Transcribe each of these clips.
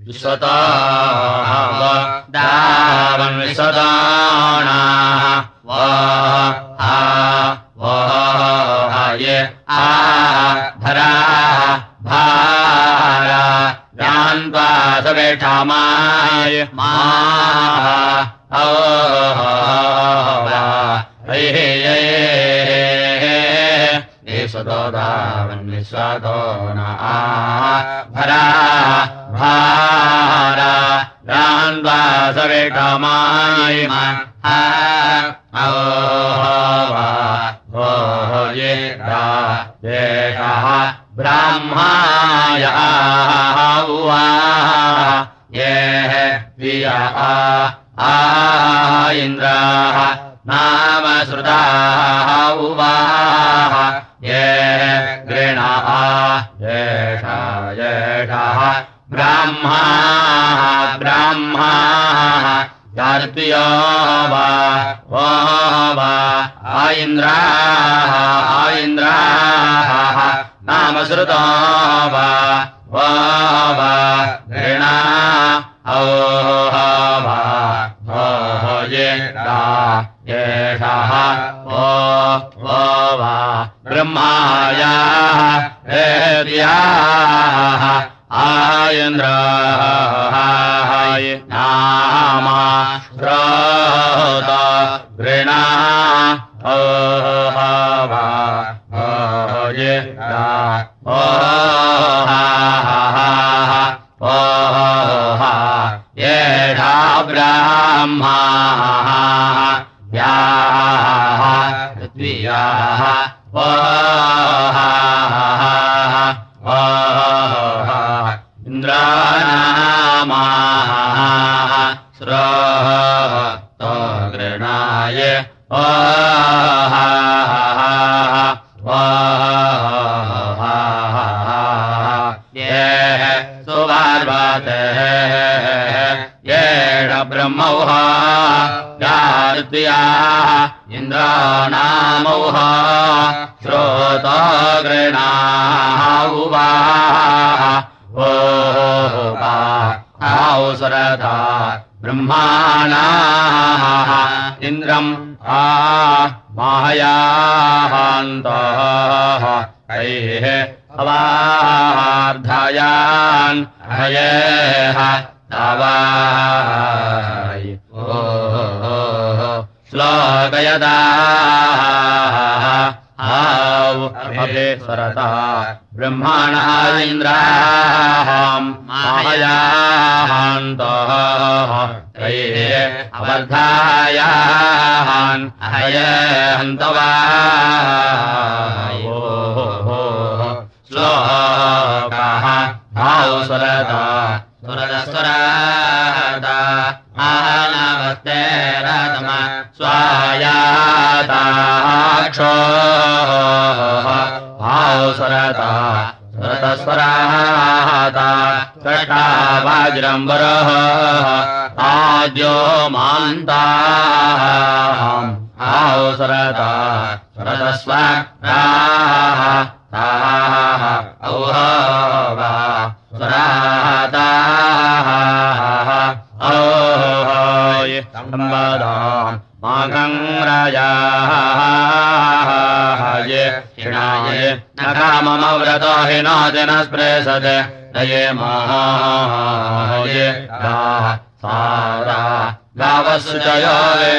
विश्वतो दावन् विश्वतोणाः वो ये धराः भारा रान्त्वा सवेठामाय विश्वतो दावन् विश्वतो न भरा भारा रान्त्वा सवेठामाय ये देशः ब्राह्माय ये विया इन्द्राः नाम श्रुताः ये गृणाः येषः ब्राह्माः यार्त्यो वा इन्द्राः नाम श्रुतो वा गृणा येषः वा ब्रह्मायाः हेद्याः इन्द्राः नाम श्रोत गृणा येषा ब्राह्माः याः पृथ्व्याः इन्द्रानामाः श्रोतो गृणाय ये सुवार्वते येष ब्रह्मौः यार्त्याः इन्द्रानामौः श्रोतो गृणाः औसरथा ब्रह्माणाः इन्द्रम् माहयान्तः कैः अवार्धयान् हयेह तवाय श्लोकयदाः अभिसरतः ब्रह्मणः इन्द्राः माहयान्तः कैः अवर्धायान् हयन्तवाय श्लोकः औसरतः सुरदस्वरादा आनवस्तेरतम स्वायाताक्षो औसरतः सुरदस्वरादा कटा वज्रम्बरः आद्यो मान्ताम् औसरतः सुरदस्वराः औहवा स्वराताः औहय सम्बदाम् मागङ्ग्रजाः ये क्षिणाय न काममव्रतो हिनोति न स्पृशते दये माये सारा गावस्सुचयो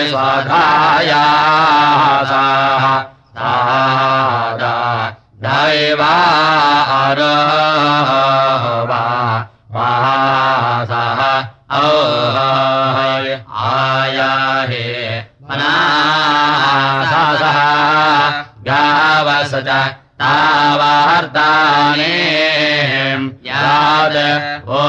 स्वाधायाः सादा दैवारवा वासः औहय आयाहे मनासः गावस च तावार्ताने याद ओ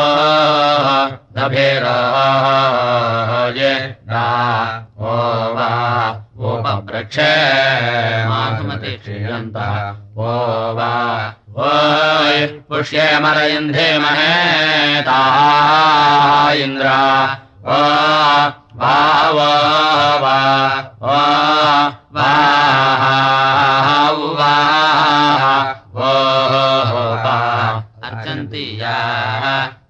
दभिरोजे ओ वा उपवृक्षे माधुमति श्रीयन्तः ओ वा ओय पुष्येमरयन्धेमहे ताः इन्द्रा ओ भावो वा ओ वाः अन्तियाः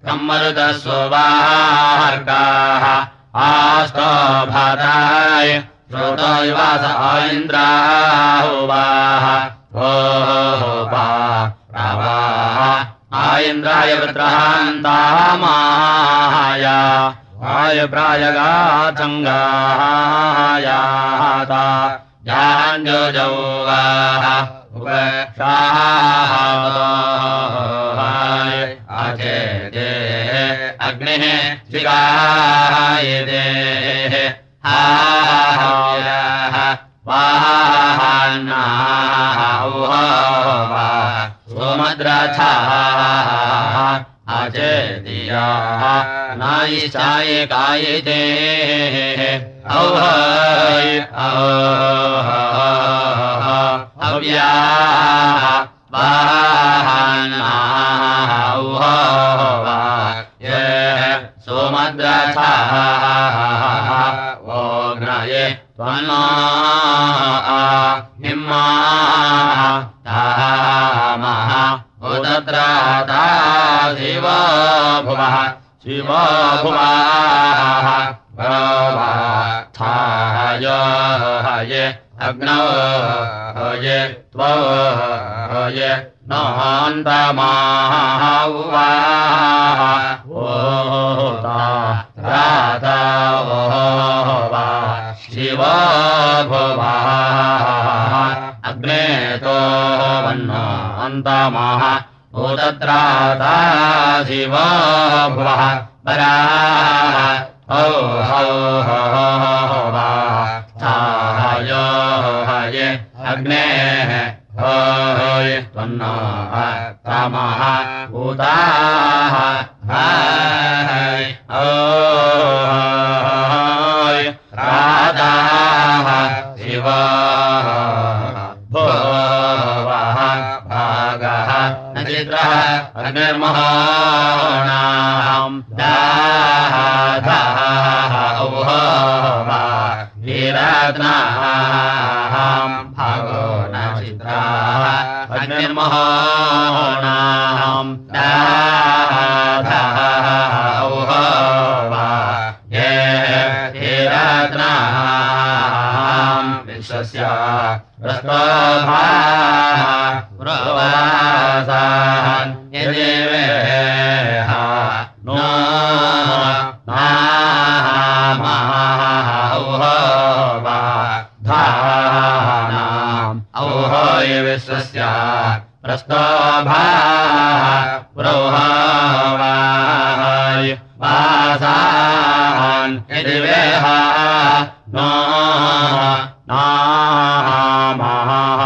कम्मरुदस्ववार्गाः आस्तो भाताय श्रोतो युवास इन्द्राहुवाः ओपा रावाः आयन्द्राय वृत्रहान्तामाया आयप्रायगाचङ्गायाता जाञ्जोजौवाः उपक्षाहाय आचेदे अग्निः शिगायदे हायाः वाहान्नाः उहोवा सोमद्रथाः आचेदियाः नायिचाय कायिते औहय अव्याः वाहान्नाः उहोवा ये सोमद्रथाः ओग्नये त्वन्नो हिम्माः तामः उदत्राता शिवो भुवः शिवो भुवाः थाय हये अग्नौ हये त्वो हये नोऽन्तमाः उवाः ओता राता ओवा शिवो भुवः अग्ने तो वन्नो अन्तमाः उदत्राता शिवो भुवः पराः औ हौ वा थाय हये अग्नेः होय त्वन्नो तमः उदाः हाय ओय राधाः शिवः भुवः भागः नचित्रः अग्निर्महाणाम् दाधाः औहवा वीरत्नाम् भागो नचित्राः अग्निर्महाणाम् दाधाः औहवा ये वीरत्नाम् विश्वस्य प्रस्तोभाः प्रवासान् यदेवेह नो नामाः औहवा धानाम् औहय विश्वस्य प्रस्तोभाः प्रोहवाय वासान् यदेवेह नो नामाः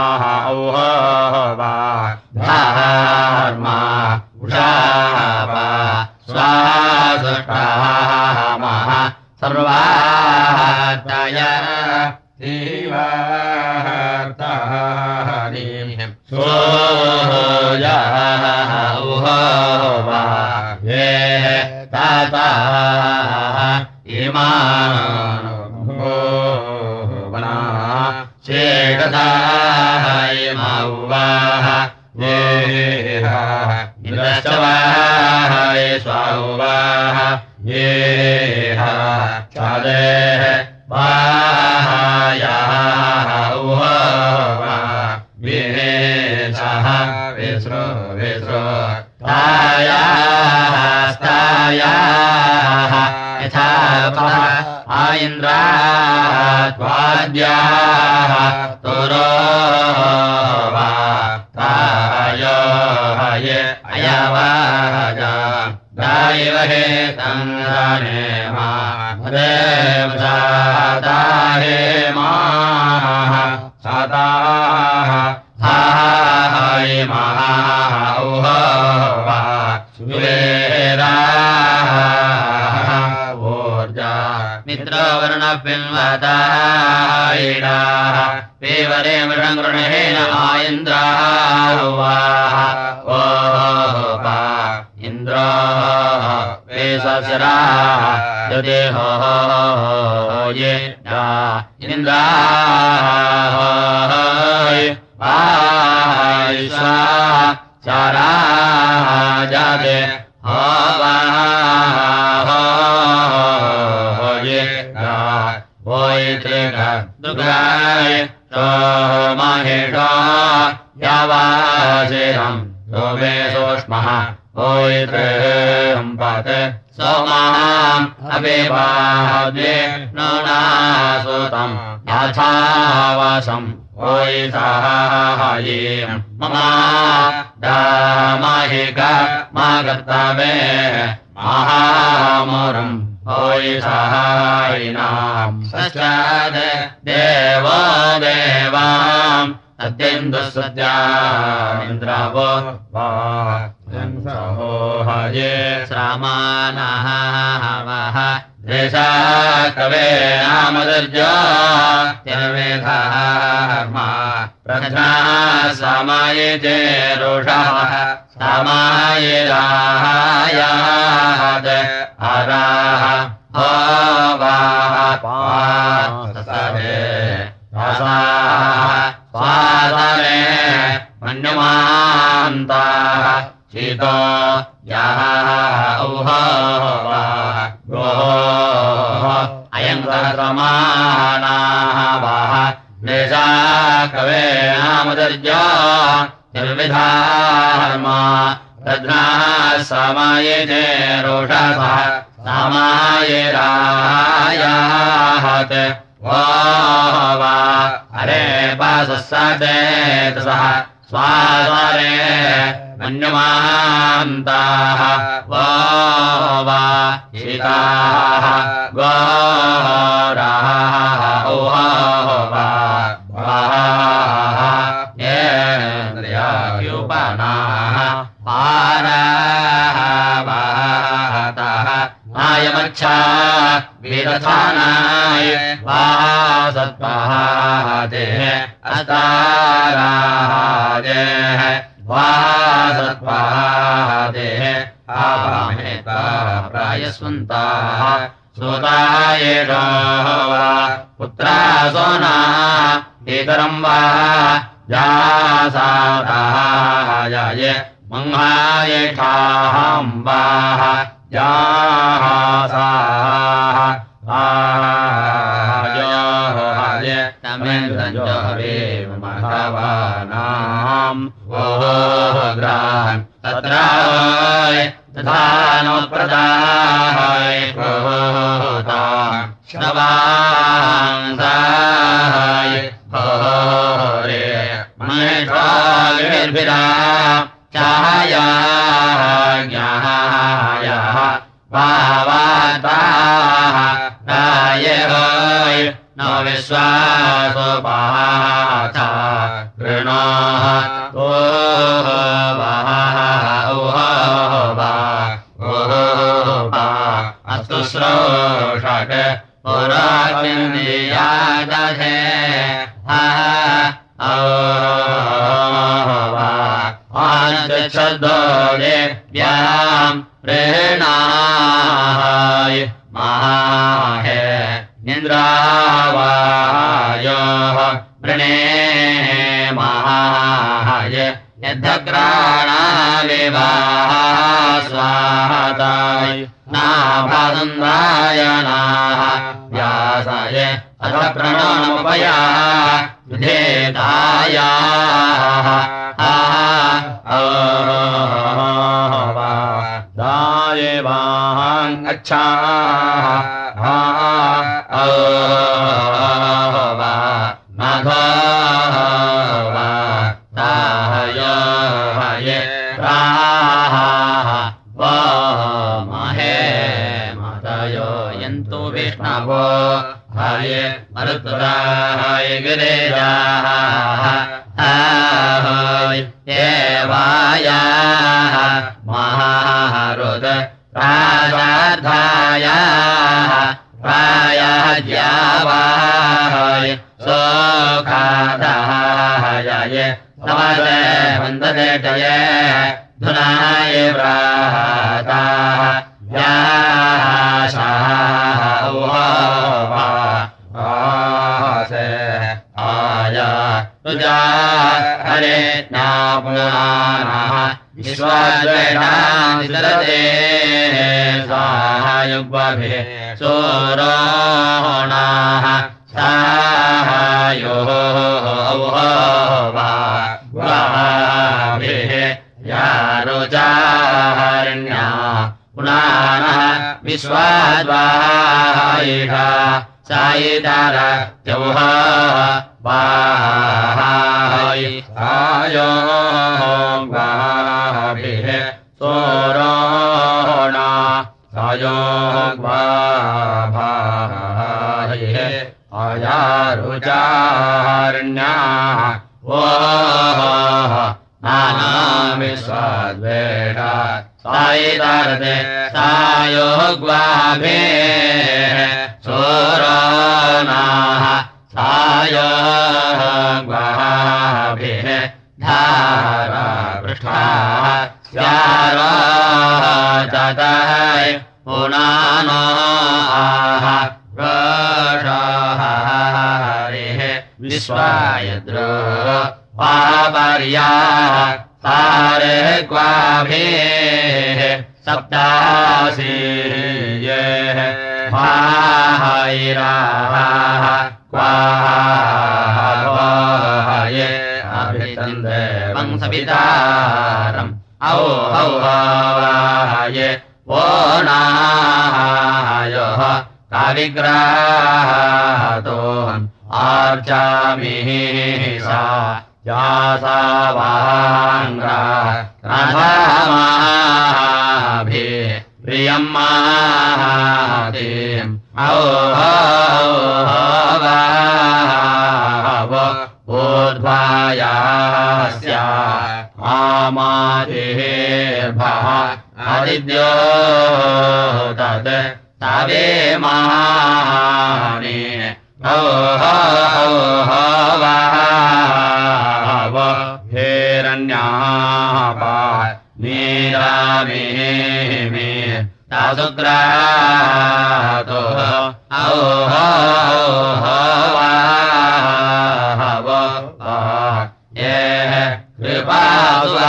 औहवा धर्मा उषावा स्वासुष्टामः सर्वातय जीवार्तारिम् सोयः उहोवा ये ताताः इमानो शेषधाय मौवाः येह इन्द्रश्चवाय स्वाहुवाः येह चादेः वाहायाः उहोवा विहेशः विस्रो विस्रो तायाः स्तायाः यथा आइन्द्रात्वाद्याः तुरोवा तायो हये अयवाजा गायवहे तन्दानेमा देवसादाहे माः सादाः हाय माः औहवा सुवेदाः मित्रवर्णपिन्वतायिडाः पेवरे मृगृणेन आयन्द्राहुवाः ओपा इन्द्रो वेशशिराः यदेहो ये इन्द्राः आयिषा चाराजाते ये वोयित्रिक दुर्गाय सोमहेषो यावासिरम् सोमे सूक्ष्मः वोयित्रिम्पत् सोमाम् अभिवाद्ये नूनासुतम् याथावसम् वोयिसाहायीम् ममा दामहिक मा कर्तवे महामुरम् वोयिसाहायिनाम् सश्चाद देवो देवाम् अद्यन्दुसत्यामिन्द्रावो सहोहये श्रामानः वः देशा कवे नामदर्जो तिर्वेधर्मा प्रज्ञा समायिते रुषः समायिरायात् अराः होवाः पासरे स्वादरे मन्यमान्ताः शीतो यः औहवाः गोः अयङ्करमाणाः वः देशा कवे नामदर्जो निर्विधार्मा प्रज्ञाः समायिते रोषसः समायिरायात् वा अरे पासस्सतेतसः स्वादरे मन्यमान्ताः वा शीताः गोराः येन्द्रियायुपनाः पाराः आयमच्छा वीरथानाय वासत्पादे अस्ताराजे वासत्पादे आवामेता प्रायस्वन्ताः सुतायेषो वा पुत्रा सोना इतरम् वा जासादाय मङ्गायेषाम्बाः जासाः आयोहाय तमेन्द्रञ्जोरेव महवानाम् ओग्रान् तत्राय तथानोप्रदाय भूतान् श्रवांसाय होरे महेश्वागिर्भिरा चायाज्ञायाः भावाताः रायहोय नो विश्वासोपाथा कृणोः अस्तु श्रोषट् पुराग्नियादधे आञ्चदोदेव्याम् प्रेणाय माहे इन्द्रावायोः वृणे महाय यद्धग्राणाविवाह स्वाहाताय नाभासन्दायनाः व्यासाय अथ प्रणोमुपया विधेतायाः दायेवान् अच्छाः माधवा ताहये राः वा महे मातयो यन्तु विष्णवो हये मरुत्तराय गिरिजाः आहोय देवायाः महारुद प्राजार्थायाः प्रायाज्यावाय सोखादाय समदे वन्ददेटये धुनाय व्राताः व्याशाः आसे आया तुजा हरे नापुनानः विश्वाद्वेषानिदरते सायुग्वाभिः सोरोणाः सायो वाभिः यारुचारण्या पुनानः विश्वाद्वायिषा सायितार यौः वाहायि आयो वाभिः सोरोणा सायो वाभायिः आयारुचारण्याः ओः नानामिस्वाद्वेषा सायितारते सायोग्वाभिः सोरोणाः सायोग्वाभिः धारापृष्ठाः स्यारोचतय पुनानो आह रोषाहरिः विश्वायद्रो पापर्याः सारे क्वाभिः सप्तासीयेः भाहैराः क्वाहाये अभितन्दे वंसवितारम् औहौहाये वो नायोः काविग्राहतोऽहम् आर्चामिः सा यासावाङ्ग्रा राधामाभिः प्रियम् माहातिम् औहौहवाव ऊर्ध्वायास्या आमादिर्भः आदिद्यो तत् तवे मानि औहौहवाव हिरण्यापा नीरामिः तासुग्रातो औहौहवाव ये कृपासुरा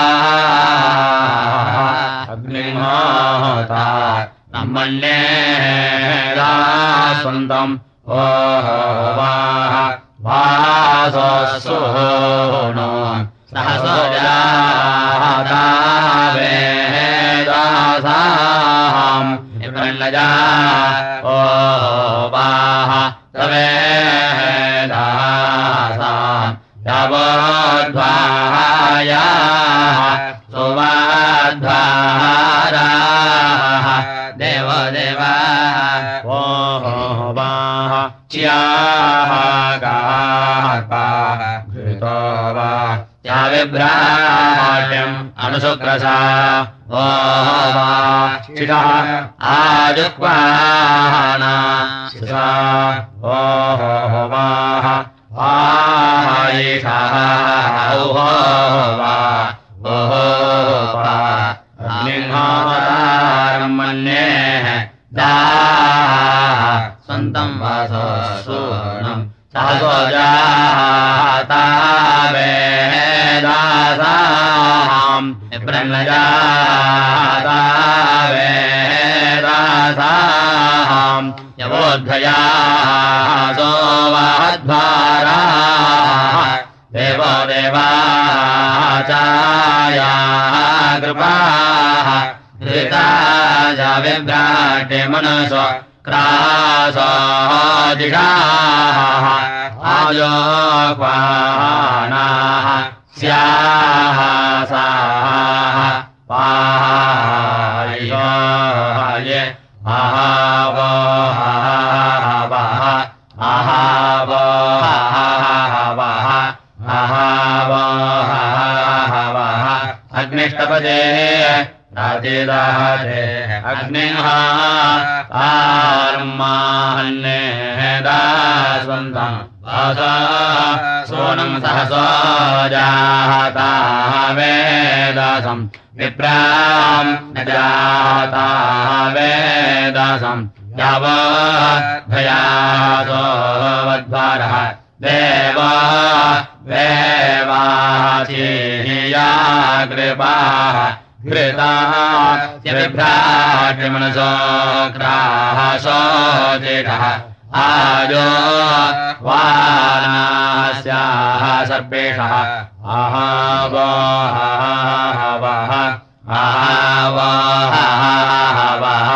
अग्निहोता ब्रह्मण्येदास्वन्तम् ओह वासोऽसुनो सहसोजादावेदासाम् इब्रह्लजा ओवाह तवेदासाम् यावोद्वाहायाः सुवाद्वाराः देवदेवा ओवाह च्याः गार्पा घृतो वा त्याविभ्राट्यम् अनुशुक्रसा ओवा चिषः आजुक्वाना शिषा ओवाह आयिषः औहोवा ओहोवा अग्निहोतारम् मन्येः दाः स्वन्तम् वासोऽसूनम् सहसोजातावेदासाम् ब्रह्मजातावेदासाम् यवोद्धयाः सोवाध्वाराः देवो देवाचायाः कृपाः धृताजा विभ्राट्य मनसो क्रासोदिषाः आयोक्वानाः स्याः साः पाहाये अहावः अहावः अग्निष्टपदे राजेदाजे अग्निः आर्मान्नेदास्वन्तम् वासा सोनम् सहसोजातावेदासम् विप्राम् न जातावेदासम् यावद्भयासो वद्वारः देवा वेवाचीया कृपाः घृताः विभ्राट्यमनसो ग्राहसो जेठः आजो वानास्याः सर्पेषः आहावः आहावः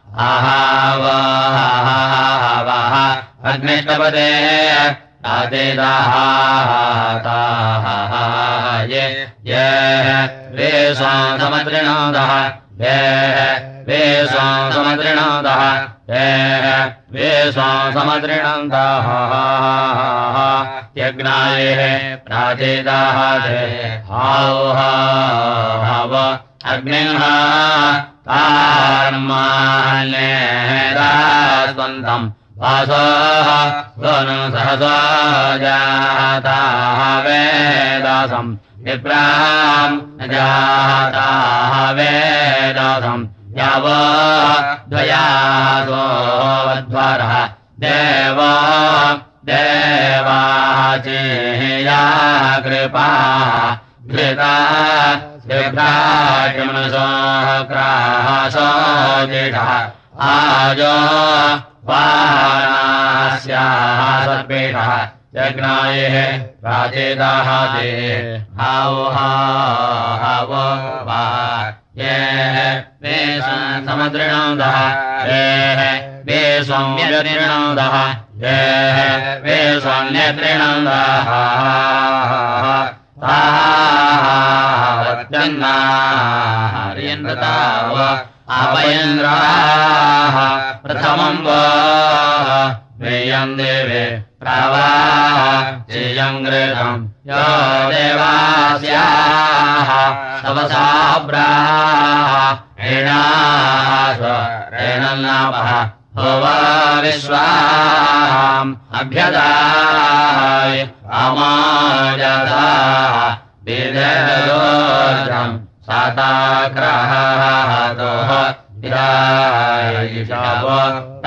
आहावः अग्निष्टपदे आदेदाः ये ये वे स्वासमद्रिणोदः ये वे स्वासमद्रिणोदः ये वे स्वासमद्रिणोदः यज्ञाये प्राचेदाः ते हाव अग्निः तान्मान्येदास्वन्तम् वासोः सोनं सहसो जाताः वेदासम् विप्राम् जाताः वेदासम् यावो द्वयासो वध्वरः देवो देवाचेया कृपा घृता विभ्राट्यमनसो ग्राहसो जेठः आजो वानास्याः सर्पेषः यज्ञाये प्राचेदाः ते हाव वा ये वे समद्रिणोदः ये वे स्वाम्यत्रिणोदः ये वे स्वाम्यत्रिणोदः तावत्यन्नार्यन्ताव अपयन्द्राः प्रथमम् वो वेयम् देवे प्रवाह चेयम् घृतम् यो देवास्याः तवसाब्राः एणास एणन्नापः होवा विश्वाम् अभ्यदाय अमाजदाः विदेयोजम् साताग्रहादोः विरायिषावो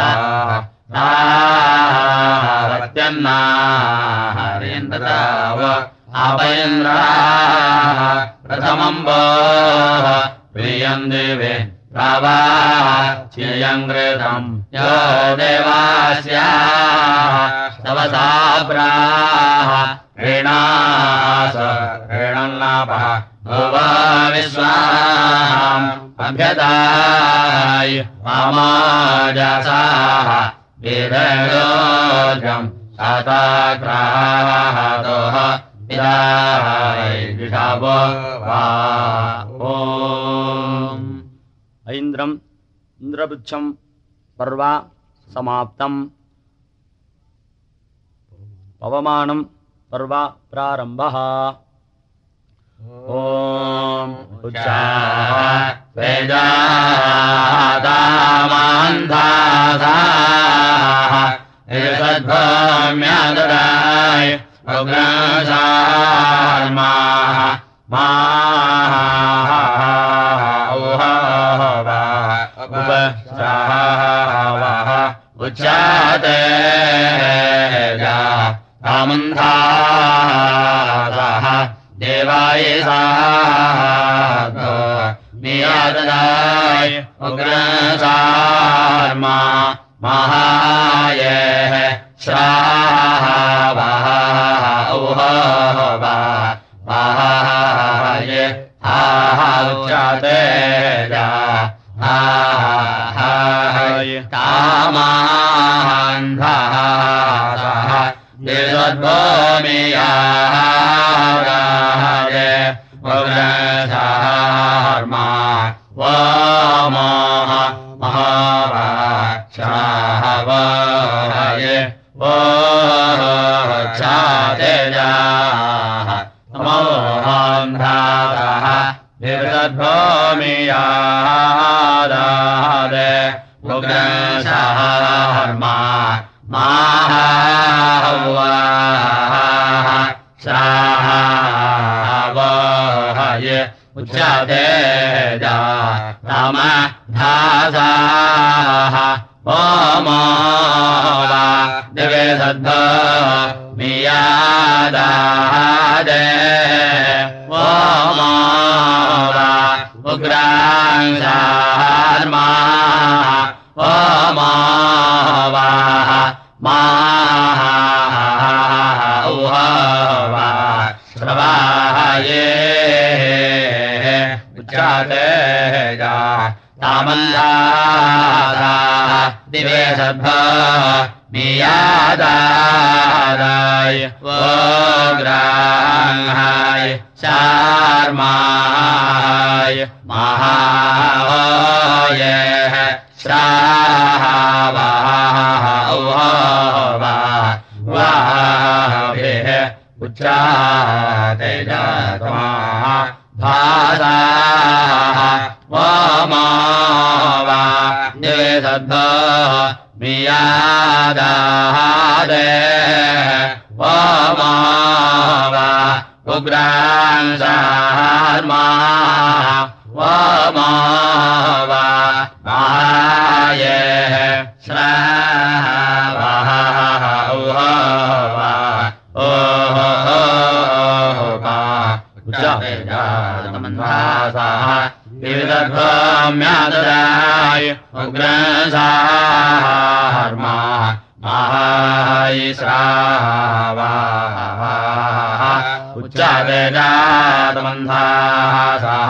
तावत्यन्नार्यन्ताव अपयन्द्राः प्रथमम् वो प्रियम् देवे प्रवाह चेयम् घृतम् यो देवास्याः तवसाब्राः ऋणास ऋणन्नापः भुवा विश्वाम् अभ्यदाय मामाजसाः विदयोजम् साताग्रहादोः विरायिषावो वा ओम् ऐन्द्रम् इन्द्रपुच्छम् पर्व समाप्तम् पवमानम् पर्व प्रारम्भः ॐ उच्चाः वेदादामान्धासाः एतद्भूम्यादराय उग्रसार्माः उपस्रावः उच्चाते रामन्धासः देवायसाधो नियाददाय उग्रसार्मा महायेः श्रावः उहोवा महाये उच्चाते तामान्धासः विद्वद्भूमियाराये उग्रसार्मा वो मोह महाराक्षावये वो चातेजाः मोहान्धासः विद्वद्भूमियाराये उग्रसार्मा माहावाः श्रावये उच्चातेजा रामधासाः ओमोवा दिवे सद्भो मियादादे ओमोवा उग्रांसार्मा ओमावाः माउहवा श्रवाये उच्चाते जा तामन्धारा दिवे सद्भा मियादाय वोग्रांहाय शार्माय महावये श्रावाववा वाभिः उच्चाते जात्मा भासाः वमावा दिवे सद्भा मियादादे वमावा उग्रांसार्मा वमावा माये श्रावाः ओहोवा उच्चातेजातमन्वासाः विविधध्वम्याददाय उग्रांसार्मा महाय श्रावाः उच्चातेजातमन्वासाः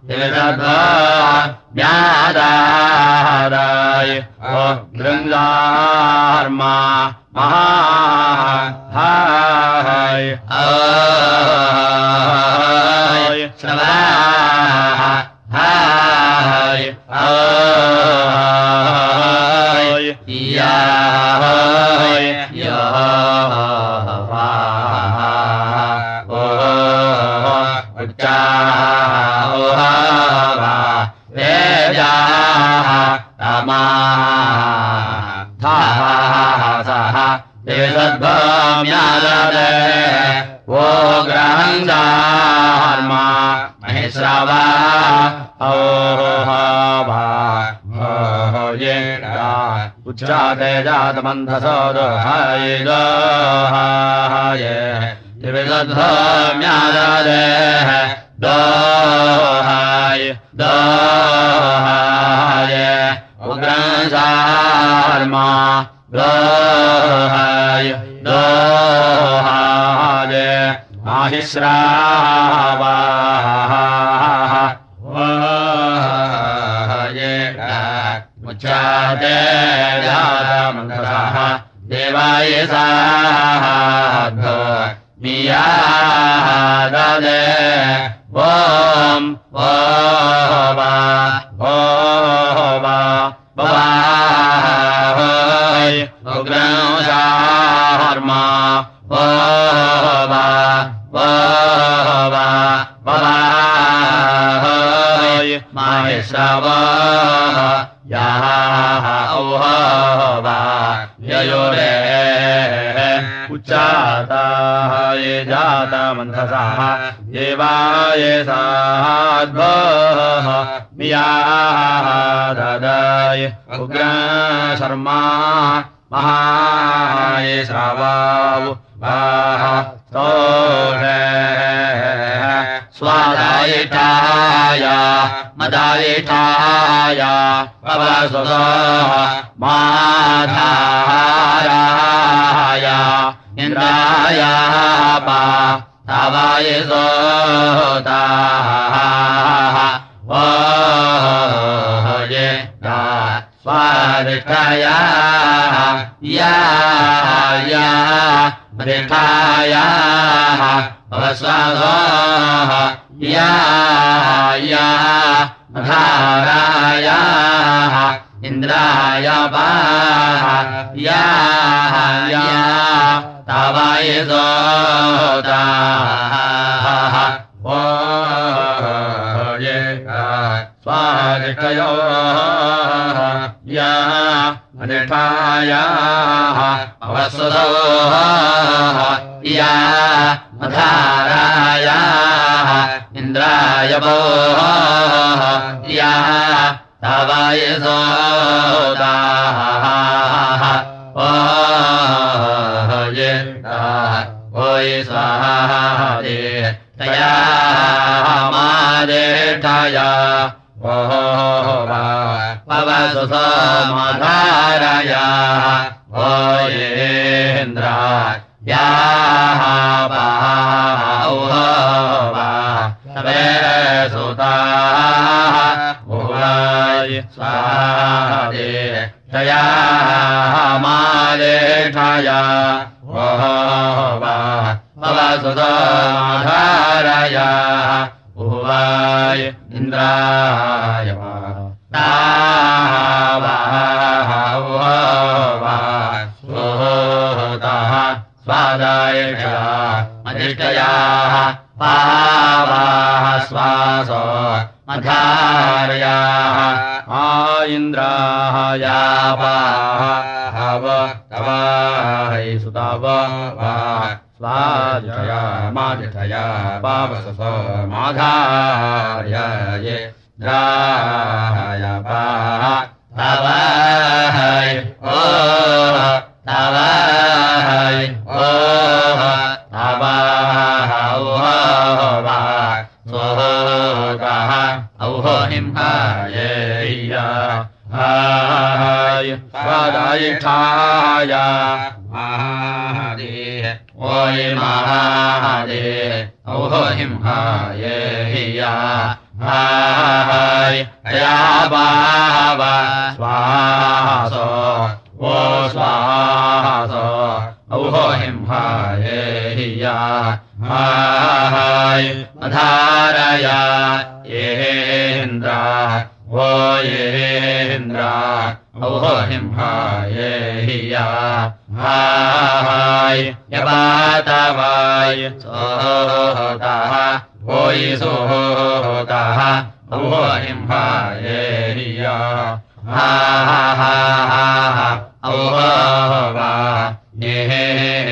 विविधध्वम्याददाय उग्रांसार्मा महाय श्रवाः हाय हाय याय यहोवा उच्चाहोवा वेदाः तमा थासः देवसद्भम्याददे वो ग्रहंसार्मा महेश्रवा ओहोवा ओहोये उच्चाते जातमन्थसोदहाय दोहाय दिविसद्भम्याददे दोहाय दोहाय उग्रंसार्मा दोहाय दोहाय माहिश्रावाः उच्चाते जातमन्थसः देवाय साधो मियाददे ॐ ओवा ओवा भवाय उग्रंसार्मा ओवा ओवा भवाय माहेश्रवा याः ओहोवा ययोरे उच्चाताय जातमन्थसः देवाय साध्वः मियाददाय उग्रशर्मा महाय श्रावाव स्तोषे स्वादायिठाय मदायिठाय पवसुतः माधाराय इन्द्राय तवाय सोताः ओये स्वादिष्ठाय या मदिष्ठाय पवस्वादः या मधाराय इन्द्राय या तवाय सोताः ओये स्वादिष्ठयो या मदिष्ठाय पवस्वादः या मधाराय इन्द्राय या तवाय सोताः ओये ओय स्वाहादे तया मादेष्ठा धारया पवसु सोमधारया ओ येन्द्रा याः तवे सुताः भुवाय स्वादे तया मादेठया पवसु सोमधारया भुवाय इन्द्राय स्वादायषा मधिष्ठयाः पावाः स्वासो मधार्याः आ इन्द्राः यावाः तवाहै सुताव स्वादिषया मादिषया पावससो माधार्याये द्रायपाः तवाहै ओ तवाहै ओ हाय स्वादायिठाय महादे ओय महादे औहिंहाय हिया हाय या बावा स्वासो ओ स्वासो औहिंहाय हिया हाय मधारया येन्द्रा वो येन्द्रा औहिंहाय हिया हाय यवातवाय सोहतः वोयि सोहतः औहिंहाय हिया औहवा ये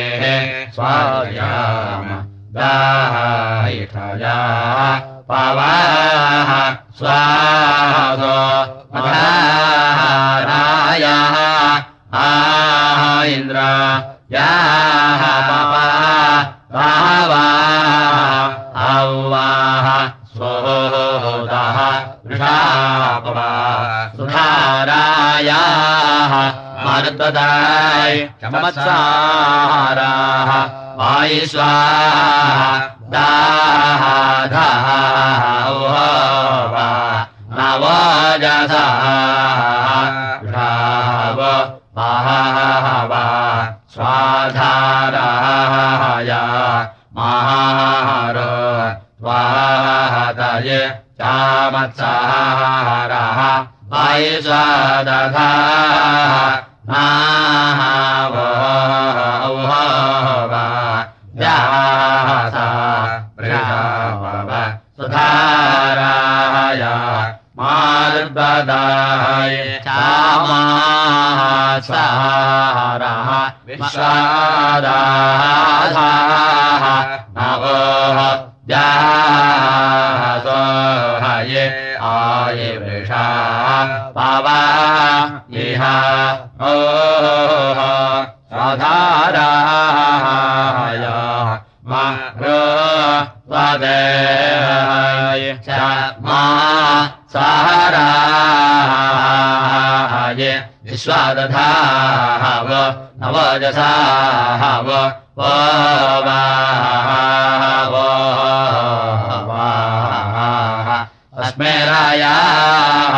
स्वायाम दायिठया पवाः स्वासो मधारायाः इन्द्रा याः पावाः औवाः स्वोदः वृषापवा सुधारायाः मरुद्वदाय चमत्साराः वायुस्वाहा दाः नवजसा षाव पाहवा स्वाधाराय महार स्वाहतये चामत्सारः वायुस्वादधा सुधाराय मार्बदाय चामासारः विश्वादाधाः नवः जासोहये आये वृषा पवा इह ओह स्वाधाराय स्वदेहाय च मा साराय विश्वादधाव नवजसाव अस्मे रायाः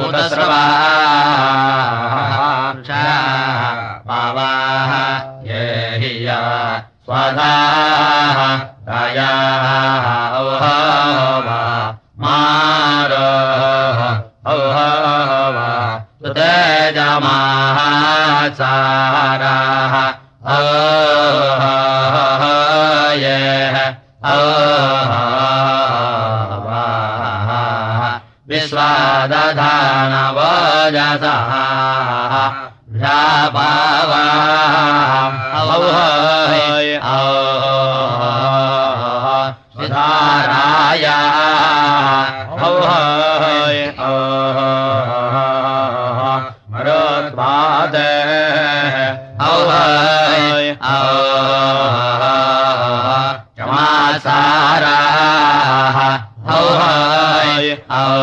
उदस्रवाः पावाः ये हिया स्वधाः रायाः औहवा मारोः औहवा सुतेजमाः साराः औहयेः औहवा विश्वादधानवजसः औहय सुधाराय औहय मरुत्वादे औहय चमासाराः औहय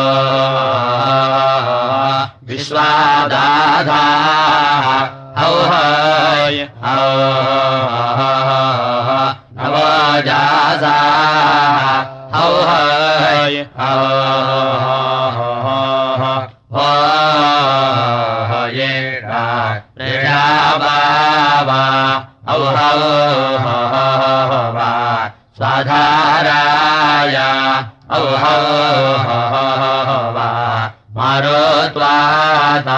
स्वाधाः औहय नवजासाः औहय प्रेषाबावा औहवा स्वाधाराय औहवा मारुत्वाता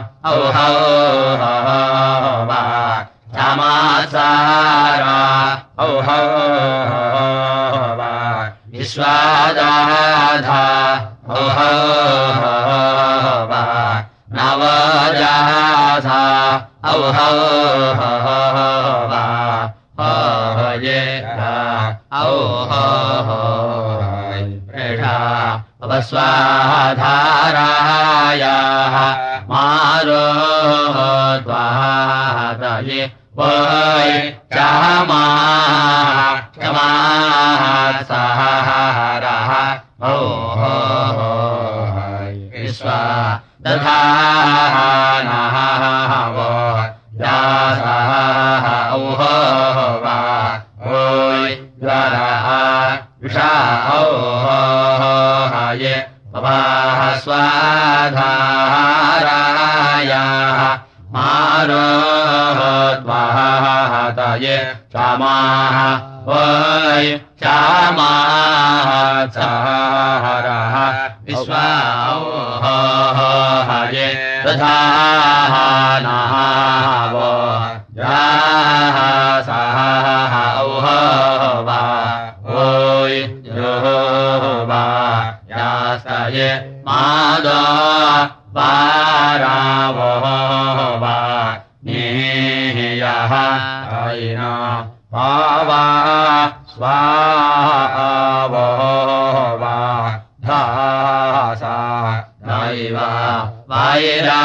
औहवा समासारा औहवा विश्वादाधा औहवा नवजासा औहवा प्रेषा अवस्वाधारायाः मारुत्वातये वै क्षमासारः विश्वा दधानः यासः औहवा ओय ज्वरः विषा औहये पवाः स्वाधारायाः मारुत्वातये क्षमाः वै क्षमासारः विश्वा औहये दधानः यासः औहवा ओय योवा यासये मादो पारावोवा नियः ऐना पावा स्वावोवा धासा दैवा वैरा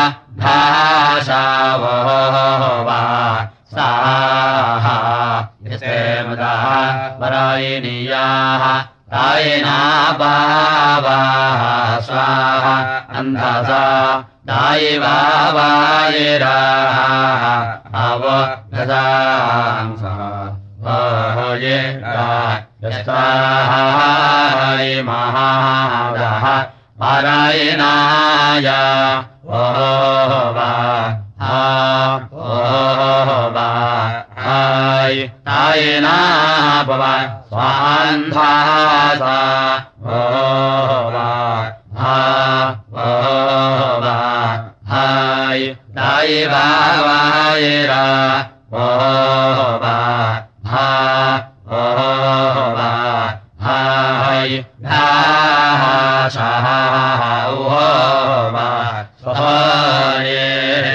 धासावोवा साहा यस्ते मदः वरायिनीयाः तायिना बावाः स्वाहा अन्धसा दायिवा वायिराः अवगतांसः ये यस्ताहाय महादः पारायणाय ओवा ओवा हाय तायिना भव स्वान्धासा ओवा ओवा हाय तायिवा वायिरा ओवा ओवा हाय धासाः ओवा स्वये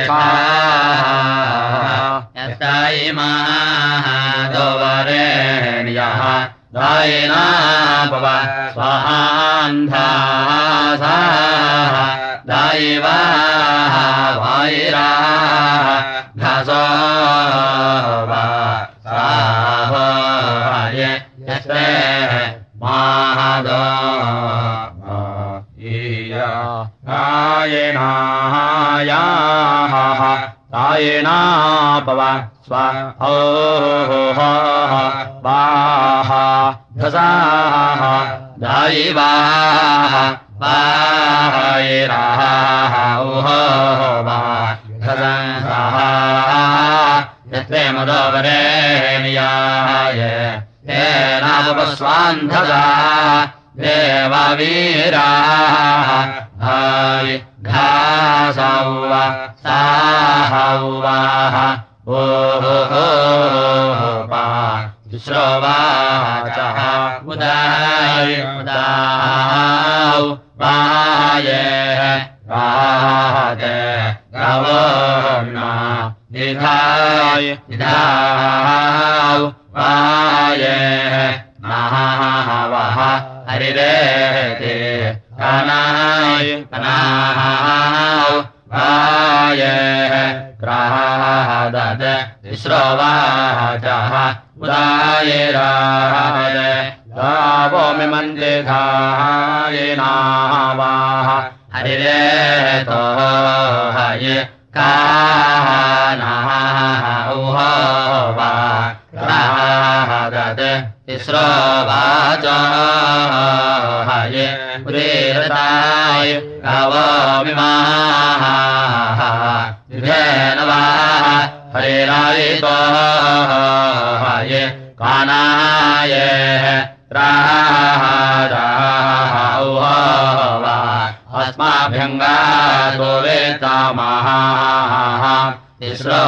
यस्तायिमाः दोवरेण्यः दायिना भव स्वान्धासाः दायिवाः वायिराः घसोवा साभये यस्ते मादो ईया तायिनायाः तायिना भव स्वाहा घसाः दायिवाः वायिराः ओवा घसंसः यस्ते मदोवरेण्याय तेनावस्वान्धसा देववीराः हाय घासौव साहौवाः ओहोपा विश्रवाचः उदायौ वाये राहते गवोर्ना निधाय निधाौ वाये महावः हरिरेते कनाय कनाौ वाये ग्रहादद विश्रवाचः उदायिराय गावो मिमन्ते धायिनावाः हरिरेतो हये कानः उहोवा राहदते तिस्रो वाचो हये उदीरताय गावमिमाः युधेन वा हरिरायितो हये कानाय राहदाः उहोवा अस्माभ्यङ्गातो वेतामः तिस्रो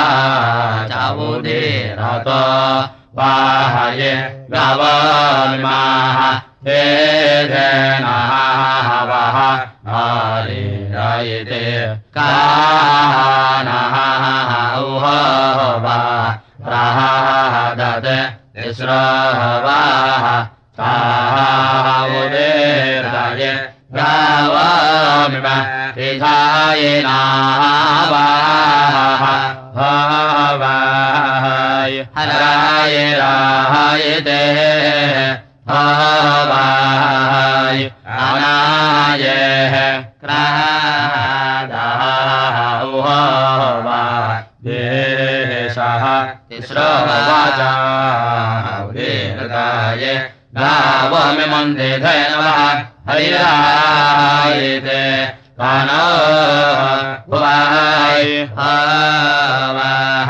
चावुदीरतो वाहये गावमिमाः हेधेनः वः हरिरायिते कानः उहोवा राहदते तिस्रो वाः तावुदीराय गावमिमाः त्रिधायिनाः हवाय हराय रायते हवाय अनाय क्रादाः उहोवा देशः तिस्रो वाचा उदीरताय गावमिमन्दिधेनवः हरिरायते कानो भुवाय हवाः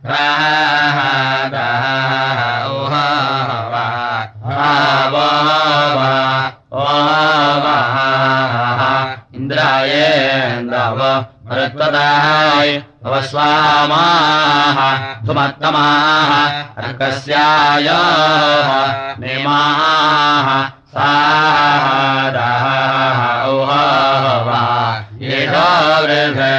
राहदाः उहोवा भाववा ओवाः इन्द्रायेन्द्रव मरुत्वदाय भवस्वामाः धुमत्तमाः अर्कस्याय निमाः सादाः उहोवा येषो वृधे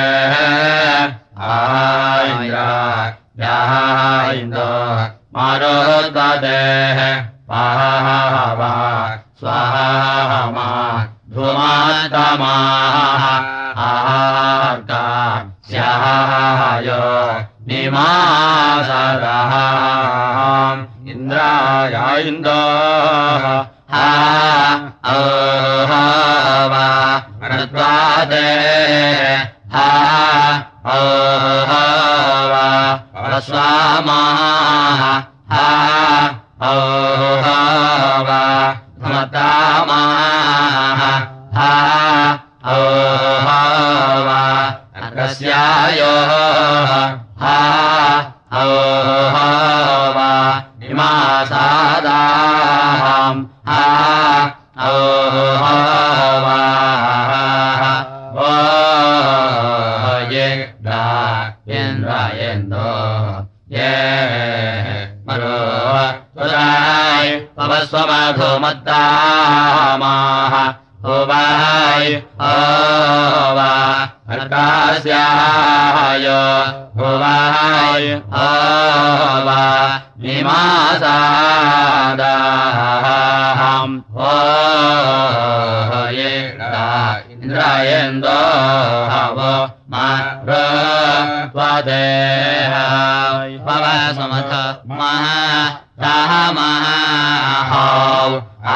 इन्द्रो मारुत्वदेः पावा स्वाहा धूमात्तमाः आर्का स्याय निमासरः इन्द्राय इन्दो हा ओहवा मरुत्वादे हा ओहवा वस्वामाः हा ओहवा धुमत्तमाः हा ओहवा अर्कस्यायो हा ओहवा निमासादाहम् हा ओहवा ये दा इन्द्रायेन्दो ये मरो तुराय पवस्वमधुमत्तामाः होवाय होवा अर्कास्याय होवाय होवा निमासादाहम् होये इन्द्रायेन्दो हवो मारुत्वदेहाय पवस्वमथ महा रामः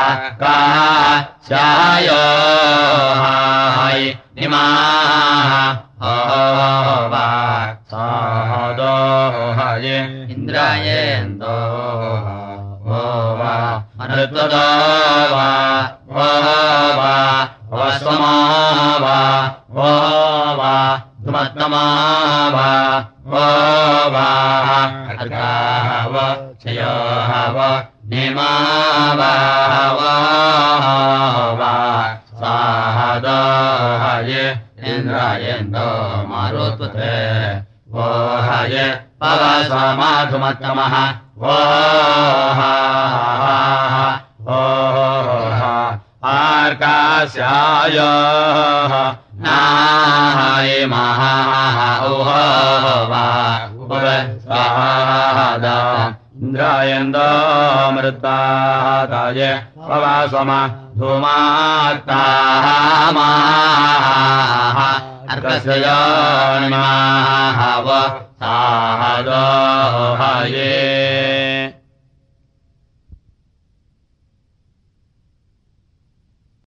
आकाशाय हाय निमाः होवा सादो हये इन्द्रायेन्दो होवा मरुत्वदो वा होवा वस्वमा वा होवा धुमत्तमा वा होवा अर्काव क्षयोः निमा वा साहदो हये इन्द्रायेन्दो मारुत्वते वो हये पवस्वमधुमत्तमः वो आर्कास्याय नाय महाः उहोवा उपवस्वादा इन्द्रायेन्दो मरुत्वादाय पवस्वमा धूमात्तामाः अर्कस्यानिमाः वो साहदो हये